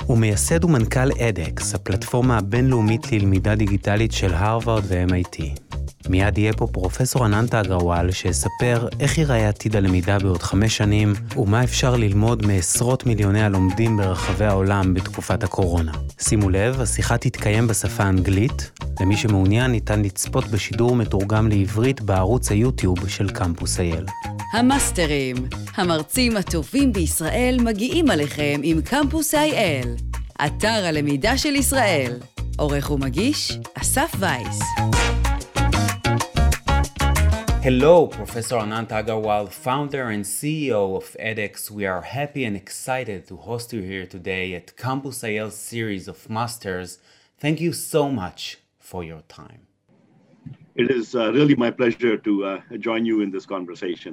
הוא מייסד ומנכ"ל edX, הפלטפורמה הבינלאומית ללמידה דיגיטלית של הרווארד ו-MIT. מיד יהיה פה פרופסור אננט אגרוואל שיספר איך ייראה עתיד הלמידה בעוד 5 שנים, ומה אפשר ללמוד מעשרות מיליוני הלומדים ברחבי העולם בתקופת הקורונה. שימו לב, השיחה תתקיים בשפה האנגלית. למי שמעוניין ניתן לצפות בשידור מתורגם לעברית בערוץ היוטיוב של קמפוס אייל. המאסטרים, המרצים הטובים בישראל מגיעים עליכם עם קמפוס אייל, אתר הלמידה של ישראל. עורך ומגיש, אסף וייס. Hello, Professor Anant Agarwal, founder and CEO of edX. We are happy and excited to host you here today at Campus IL series of Masters. Thank you so much for your time. It is really my pleasure to join you in this conversation.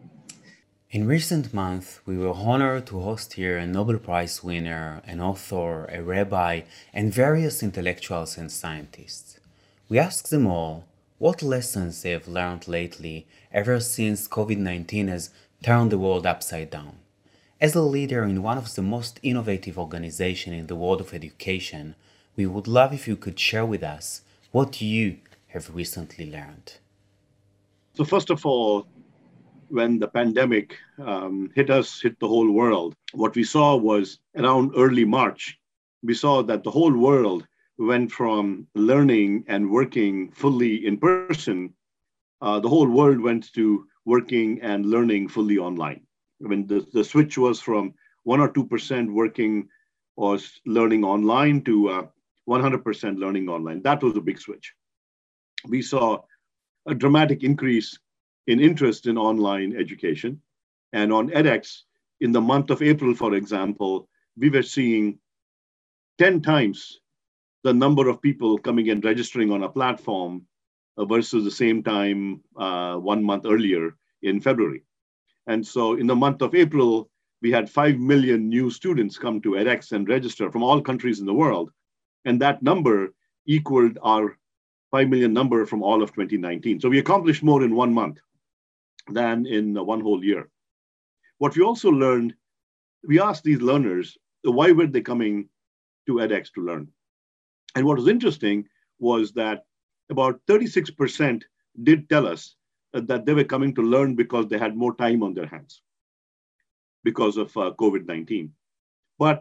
In recent months, we were honored to host here a Nobel Prize winner, an author, a rabbi, and various intellectuals and scientists. We asked them all what lessons they have learned lately ever since COVID-19 has turned the world upside down. As a leader in one of the most innovative organizations in the world of education, we would love if you could share with us what you have recently learned. So first of all, when the pandemic hit the whole world, what we saw was around early March, we saw that the whole world went from learning and working fully in person. The whole world went to working and learning fully online. When the switch was from 1 or 2% working or learning online to 100% learning online. That was a big switch. We saw a dramatic increase in interest in online education. And on edX, in the month of April, for example, we were seeing 10 times the number of people coming and registering on a platform versus the same time 1 month earlier in February. And so in the month of April, we had 5 million new students come to edX and register from all countries in the world. And that number equaled our 5 million number from all of 2019. So we accomplished more in 1 month than in 1 whole year. What we also learned, we asked these learners, why were they coming to edX to learn? And what was interesting was that about 36% did tell us that they were coming to learn because they had more time on their hands because of COVID-19. But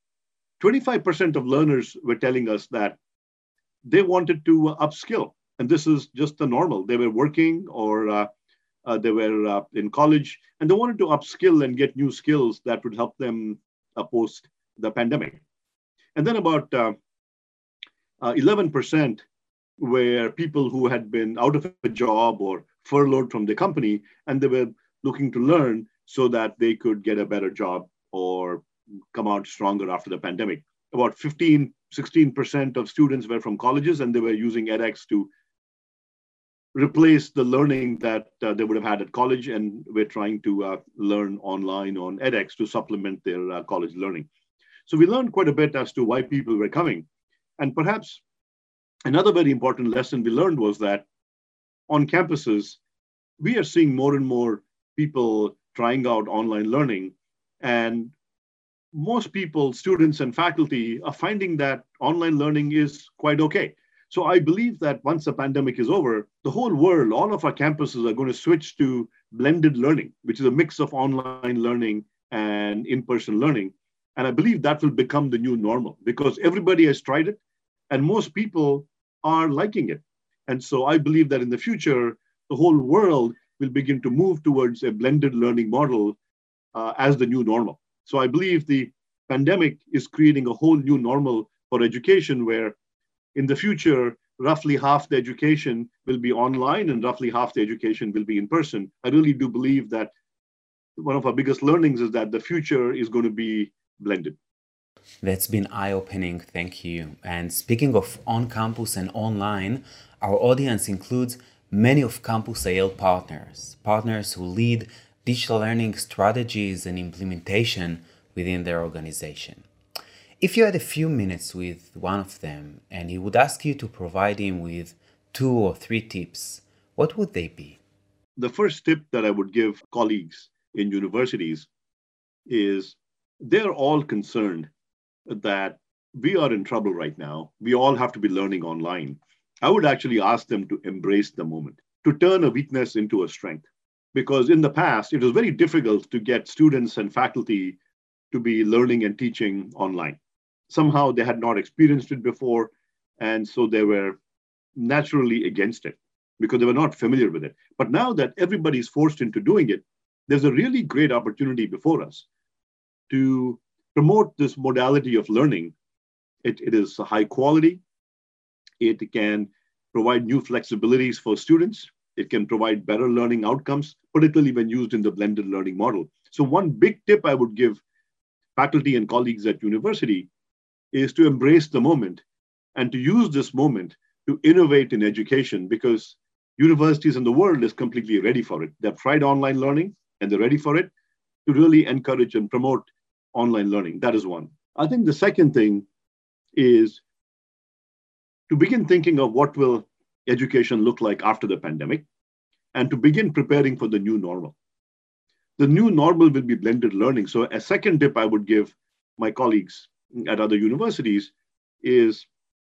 25% of learners were telling us that they wanted to upskill. And this is just the normal. They were working or they were in college, and they wanted to upskill and get new skills that would help them post the pandemic. And then about 11% were people who had been out of a job or furloughed from the company, and they were looking to learn so that they could get a better job or come out stronger after the pandemic. About 16% of students were from colleges, and they were using edX to replace the learning that they would have had at college, and were trying to learn online on edX to supplement their college learning. So we learned quite a bit as to why people were coming. And perhaps another very important lesson we learned was that on campuses, we are seeing more and more people trying out online learning. And most people, students and faculty, are finding that online learning is quite okay. So I believe that once the pandemic is over, the whole world, all of our campuses are going to switch to blended learning, which is a mix of online learning and in-person learning. And I believe that will become the new normal because everybody has tried it and most people are liking it. And so I believe that in the future, the whole world will begin to move towards a blended learning model as the new normal. So I believe the pandemic is creating a whole new normal for education where in the future, roughly half the education will be online and roughly half the education will be in person. I really do believe that one of our biggest learnings is that the future is going to be blended. That's been eye-opening, thank you. And speaking of on-campus and online, our audience includes many of Campus IL partners who lead digital learning strategies and implementation within their organization. If you had a few minutes with one of them and he would ask you to provide him with 2 or 3 tips, what would they be? The first tip that I would give colleagues in universities is they're all concerned that we are in trouble right now. We all have to be learning online. I would actually ask them to embrace the moment, to turn a weakness into a strength. Because in the past, it was very difficult to get students and faculty to be learning and teaching online. Somehow they had not experienced it before, and so they were naturally against it because they were not familiar with it. But now that everybody's forced into doing it, there's a really great opportunity before us to promote this modality of learning. It is high quality. It can provide new flexibilities for students. It can provide better learning outcomes, particularly when used in the blended learning model. So one big tip I would give faculty and colleagues at university is to embrace the moment and to use this moment to innovate in education, because universities in the world is completely ready for it. They've tried online learning and they're ready for it, to really encourage and promote online learning. That is one. I think the second thing is to begin thinking of what will education look like after the pandemic and to begin preparing for the new normal. The new normal will be blended learning. So a second tip I would give my colleagues at other universities is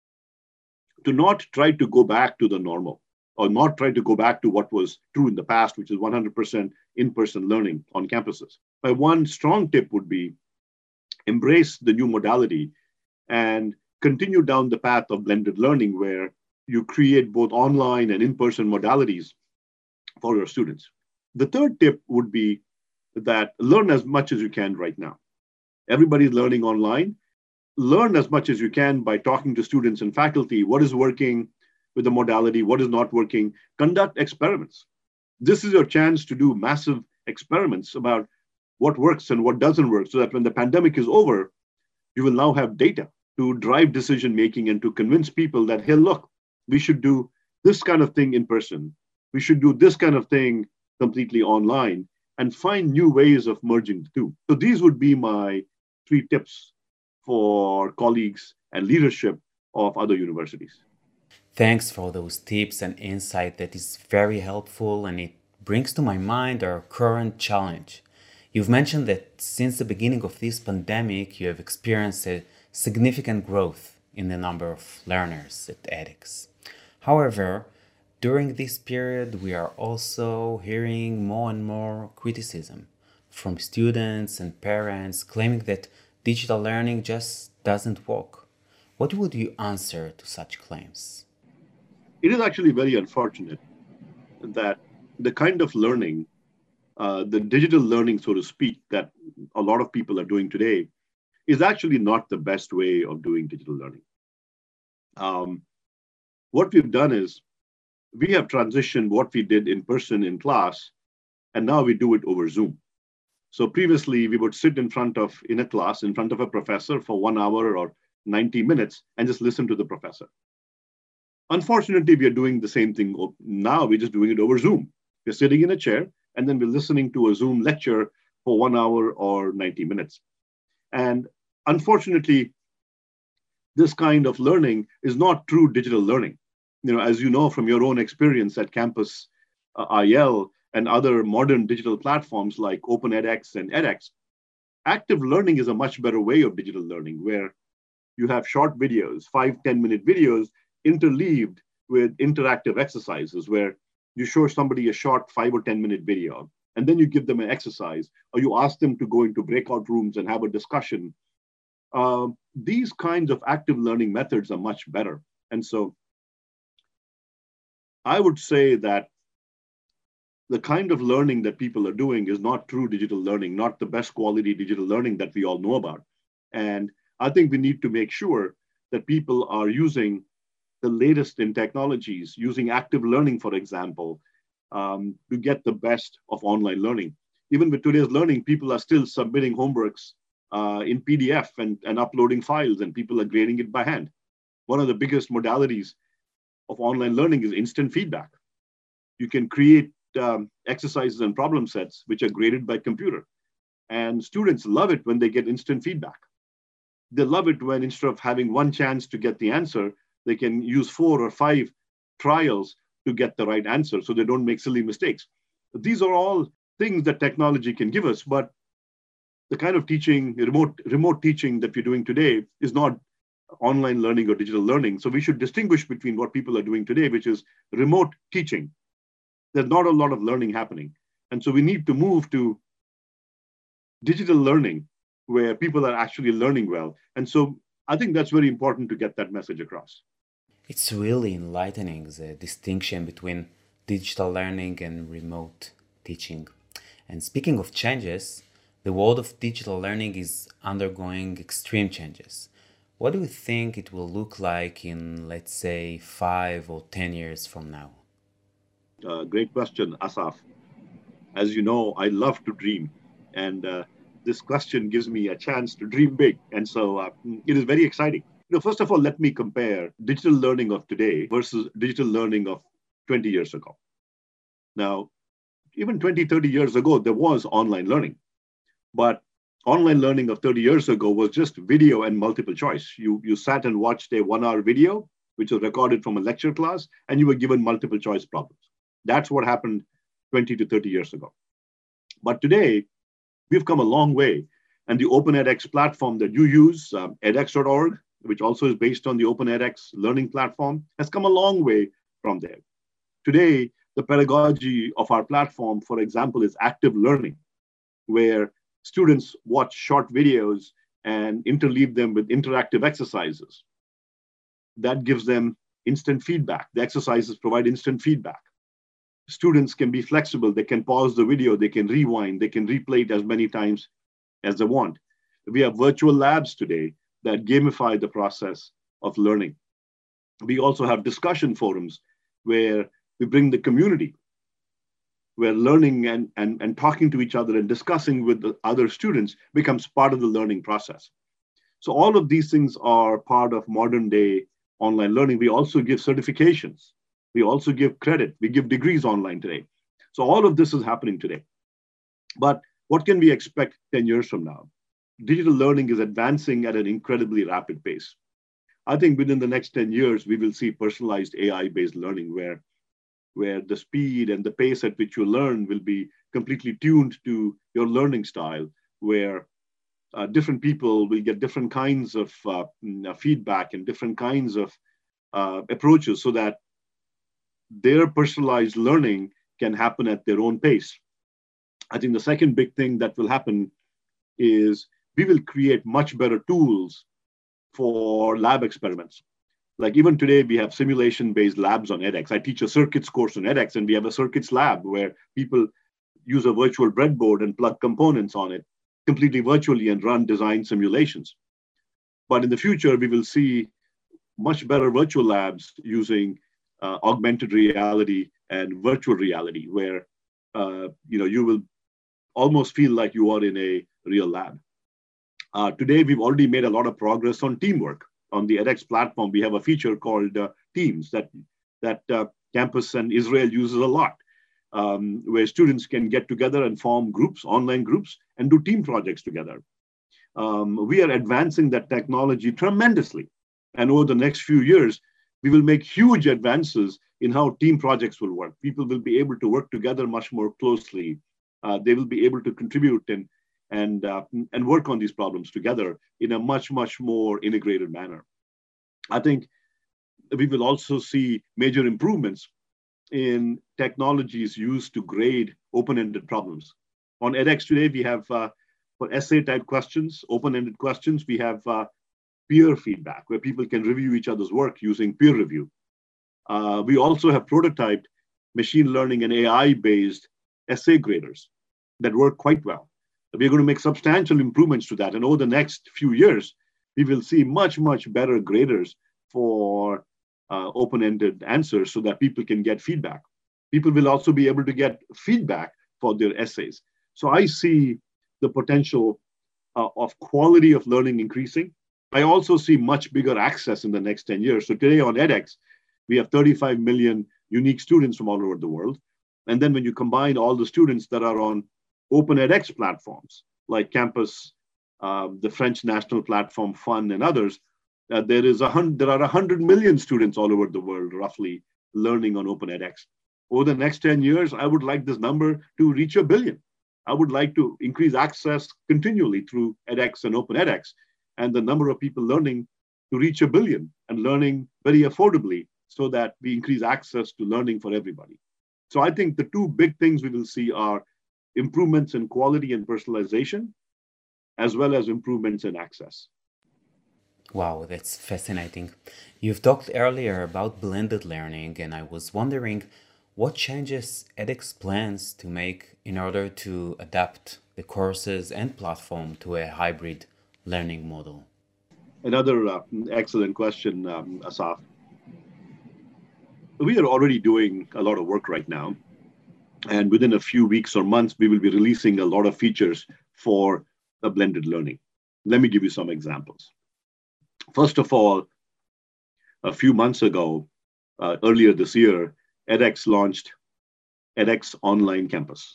to not try to go back to the normal, or not try to go back to what was true in the past, which is 100% in-person learning on campuses. My one strong tip would be embrace the new modality and continue down the path of blended learning, where you create both online and in-person modalities for your students. The third tip would be that learn as much as you can right now. Everybody's learning online. Learn as much as you can by talking to students and faculty. What is working with the modality? What is not working? Conduct experiments. This is your chance to do massive experiments about what works and what doesn't work, so that when the pandemic is over, you will now have data to drive decision making and to convince people that, hey, look, we should do this kind of thing in person. We should do this kind of thing completely online, and find new ways of merging the two. So these would be my 3 tips for colleagues and leadership of other universities. Thanks for those tips and insight. That is very helpful, and it brings to my mind our current challenge. You've mentioned that since the beginning of this pandemic, you have experienced a significant growth in the number of learners at edX. However, during this period, we are also hearing more and more criticism from students and parents claiming that digital learning just doesn't work. What would you answer to such claims? It is actually very unfortunate that the kind of learning, the digital learning, so to speak, that a lot of people are doing today is actually not the best way of doing digital learning. What we've done is we have transitioned what we did in person in class, and now we do it over Zoom. So previously, we would sit in a class, in front of a professor for 1 hour or 90 minutes and just listen to the professor. Unfortunately, we are doing the same thing now. We're just doing it over Zoom. We're sitting in a chair, and then we're listening to a Zoom lecture for 1 hour or 90 minutes. And unfortunately, this kind of learning is not true digital learning. As you know from your own experience at Campus IL and other modern digital platforms like OpenEdX and edX, active learning is a much better way of digital learning, where you have short videos, 5-10-minute videos interleaved with interactive exercises, where you show somebody a short 5 or 10-minute video, and then you give them an exercise, or you ask them to go into breakout rooms and have a discussion. These kinds of active learning methods are much better. And so I would say that the kind of learning that people are doing is not true digital learning, not the best quality digital learning that we all know about. And I think we need to make sure that people are using the latest in technologies, using active learning, for example, to get the best of online learning. Even with today's learning, people are still submitting homeworks in PDF and uploading files, and people are grading it by hand. One of the biggest modalities of online learning is instant feedback. You can create exercises and problem sets which are graded by computer. And students love it when they get instant feedback. They love it when, instead of having one chance to get the answer, they can use 4 or 5 trials to get the right answer, so they don't make silly mistakes. These are all things that technology can give us, but the kind of teaching, remote teaching that we're doing today is not online learning or digital learning. So we should distinguish between what people are doing today, which is remote teaching. There's not a lot of learning happening. And so we need to move to digital learning where people are actually learning well. And so I think that's very important to get that message across. It's really enlightening, the distinction between digital learning and remote teaching. And speaking of changes, the world of digital learning is undergoing extreme changes. What do you think it will look like in, let's say, 5 or 10 years from now? Great question, Asaf. As you know, I love to dream. And this question gives me a chance to dream big. And so it is very exciting. First of all, let me compare digital learning of today versus digital learning of 20 years ago. Now, even 20, 30 years ago, there was online learning. But online learning of 30 years ago was just video and multiple choice. You sat and watched a 1-hour video, which was recorded from a lecture class, and you were given multiple choice problems. That's what happened 20 to 30 years ago. But today, we've come a long way. And the Open edX platform that you use, edX.org, which also is based on the Open edX learning platform, has come a long way from there. Today, the pedagogy of our platform, for example, is active learning, where students watch short videos and interleave them with interactive exercises. That gives them instant feedback. The exercises provide instant feedback. Students can be flexible. They can pause the video, they can rewind, they can replay it as many times as they want. We have virtual labs today that gamify the process of learning. We also have discussion forums where we bring the community, where learning and talking to each other and discussing with the other students becomes part of the learning process. So all of these things are part of modern day online learning. We also give certifications. We also give credit. We give degrees online today. So all of this is happening today. But what can we expect 10 years from now? Digital learning is advancing at an incredibly rapid pace. I think within the next 10 years, we will see personalized AI-based learning where the speed and the pace at which you learn will be completely tuned to your learning style, where different people will get different kinds of feedback and different kinds of approaches so that their personalized learning can happen at their own pace. I think the second big thing that will happen is we will create much better tools for lab experiments. Like even today, we have simulation-based labs on edX. I teach a circuits course on edX, and we have a circuits lab where people use a virtual breadboard and plug components on it completely virtually and run design simulations. But in the future, we will see much better virtual labs using augmented reality and virtual reality, where you will almost feel like you are in a real lab. Today, we've already made a lot of progress on teamwork. On the edX platform, we have a feature called Teams that campus and Israel uses a lot, where students can get together and form groups, online groups, and do team projects together. We are advancing that technology tremendously. And over the next few years, we will make huge advances in how team projects will work. People will be able to work together much more closely. They will be able to contribute and work on these problems together in a much, much more integrated manner. I think we will also see major improvements in technologies used to grade open-ended problems. On edX today, we have, for essay-type questions, open-ended questions, we have peer feedback, where people can review each other's work using peer review. We also have prototyped machine learning and AI-based essay graders that work quite well. We're going to make substantial improvements to that. And over the next few years, we will see much, much better graders for open-ended answers so that people can get feedback. People will also be able to get feedback for their essays. So I see the potential of quality of learning increasing. I also see much bigger access in the next 10 years. So today on edX, we have 35 million unique students from all over the world. And then when you combine all the students that are on Open edX platforms like Campus, the French national platform, FUN, and others, there are 100 million students all over the world, roughly, learning on Open edX. Over the next 10 years, I would like this number to reach 1 billion. I would like to increase access continually through edX and Open edX, and the number of people learning to reach 1 billion and learning very affordably so that we increase access to learning for everybody. So I think the two big things we will see are improvements in quality and personalization, as well as improvements in access. Wow, that's fascinating. You've talked earlier about blended learning, and I was wondering what changes edX plans to make in order to adapt the courses and platform to a hybrid learning model. Another excellent question, Asaf. We are already doing a lot of work right now. And within a few weeks or months, we will be releasing a lot of features for the blended learning. Let me give you some examples. First of all, a few months ago, earlier this year, edX launched edX Online Campus.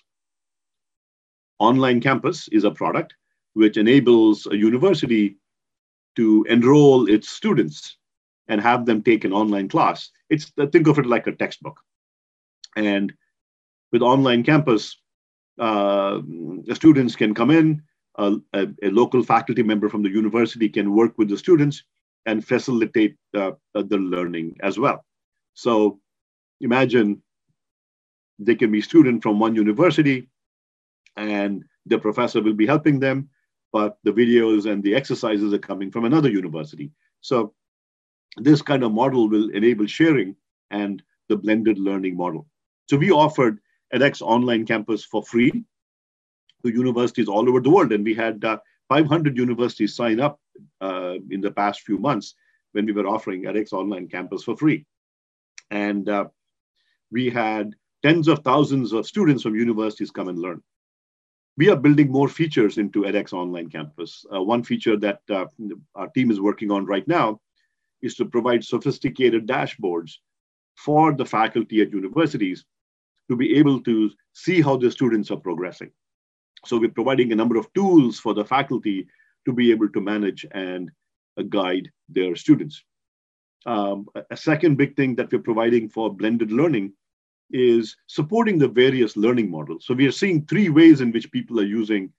Online Campus is a product which enables a university to enroll its students and have them take an online class. Think of it like a textbook. And with Online Campus, the students can come in, a local faculty member from the university can work with the students and facilitate the learning as well. So imagine they can be students from one university and the professor will be helping them, but the videos and the exercises are coming from another university. So this kind of model will enable sharing and the blended learning model. So we offered edX Online Campus for free to universities all over the world. And we had 500 universities sign up in the past few months when we were offering edX Online Campus for free. And we had tens of thousands of students from universities come and learn. We are building more features into edX Online Campus. One feature that our team is working on right now is to provide sophisticated dashboards for the faculty at universities to be able to see how the students are progressing. So we're providing a number of tools for the faculty to be able to manage and guide their students. A second big thing that we're providing for blended learning is supporting the various learning models. So we are seeing three ways in which people are using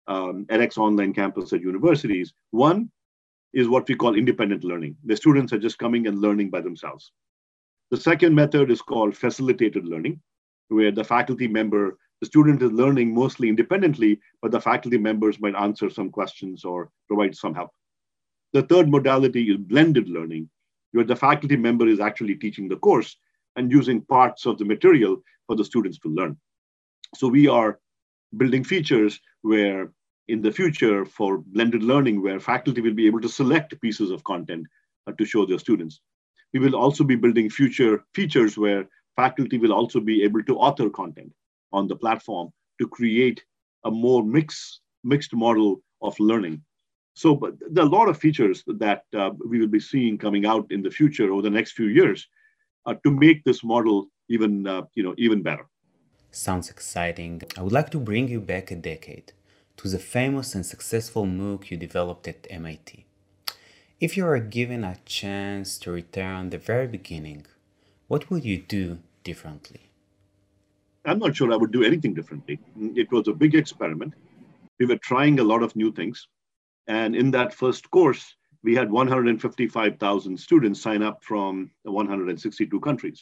edX Online Campus at universities. One is what we call independent learning. The students are just coming and learning by themselves. The second method is called facilitated learning, where the student is learning mostly independently, but the faculty members might answer some questions or provide some help. The third modality is blended learning, where the faculty member is actually teaching the course and using parts of the material for the students to learn. So we are building features where in the future for blended learning, where faculty will be able to select pieces of content to show their students. We will also be building future features where faculty will also be able to author content on the platform to create a more mixed model of learning. So but there are a lot of features that we will be seeing coming out in the future over the next few years to make this model even better. Sounds exciting. I would like to bring you back a decade to the famous and successful MOOC you developed at MIT. If you are given a chance to return the very beginning, what would you do differently? I'm not sure I would do anything differently. It was a big experiment. We were trying a lot of new things. And in that first course, we had 155,000 students sign up from 162 countries.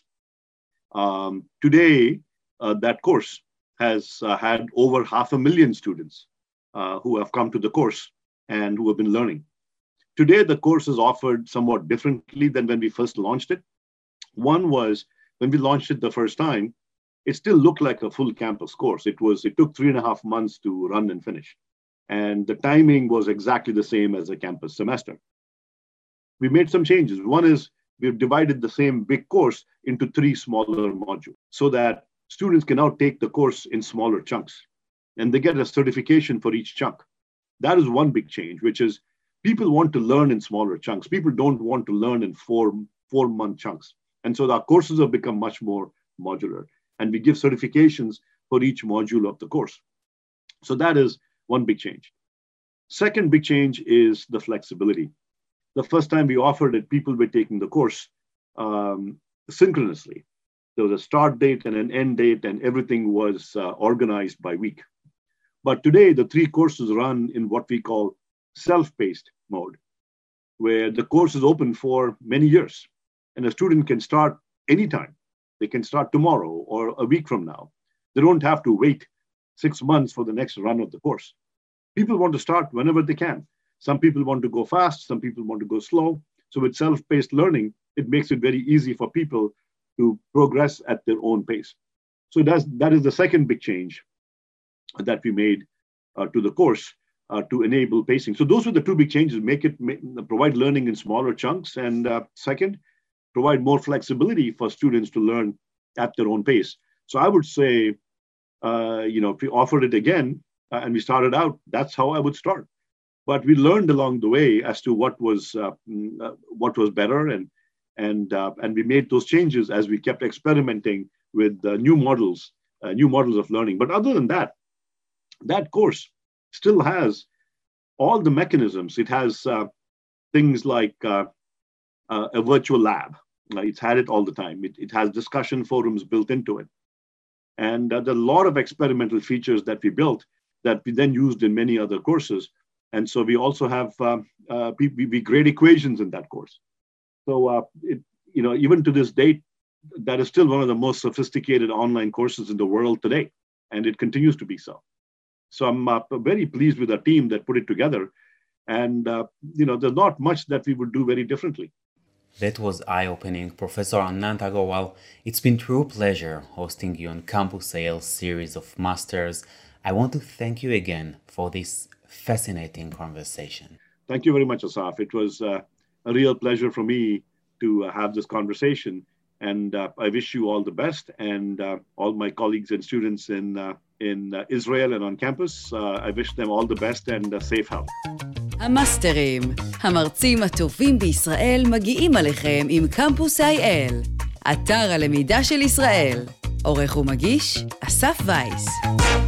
Today, that course has had over 500,000 students who have come to the course and who have been learning. Today, the course is offered somewhat differently than when we first launched it. One was when we launched it the first time, it still looked like a full campus course. It took 3.5 months to run and finish. And the timing was exactly the same as a campus semester. We made some changes. One is we've divided the same big course into 3 smaller modules so that students can now take the course in smaller chunks and they get a certification for each chunk. That is one big change, which is people want to learn in smaller chunks. People don't want to learn in four-month chunks. And so our courses have become much more modular and we give certifications for each module of the course. So that is one big change. Second big change is the flexibility. The first time we offered it, people were taking the course synchronously. There was a start date and an end date, and everything was organized by week. But today, the 3 courses run in what we call self-paced mode, where the course is open for many years. And a student can start anytime. They can start tomorrow or a week from now. They don't have to wait 6 months for the next run of the course. People want to start whenever they can. Some people want to go fast, some people want to go slow. So with self-paced learning, it makes it very easy for people to progress at their own pace. So that is the second big change that we made to the course to enable pacing. So those were the 2 big changes: provide learning in smaller chunks, and second, provide more flexibility for students to learn at their own pace. So I would say, if we offered it again and we started out, that's how I would start. But we learned along the way as to what was better, and we made those changes as we kept experimenting with new models of learning. But other than that, that course still has all the mechanisms. It has things like a virtual lab. It's had it all the time. It has discussion forums built into it. And there are a lot of experimental features that we built that we then used in many other courses. And so we also have, we grade equations in that course. So, even to this date, that is still one of the most sophisticated online courses in the world today. And it continues to be so. So I'm very pleased with our team that put it together. And, there's not much that we would do very differently. That was eye-opening. Professor Anant Agarwal, it's been true pleasure hosting you on Campus IL series of Masters. I want to thank you again for this fascinating conversation. Thank you very much, Asaf. It was a real pleasure for me to have this conversation. And I wish you all the best, and all my colleagues and students in Israel and on campus. I wish them all the best and safe health. המאסטרים, המרצים הטובים בישראל מגיעים עליכם עם קמפוס IL, אתר הלמידה של ישראל. עורך ומגיש, אסף וייס.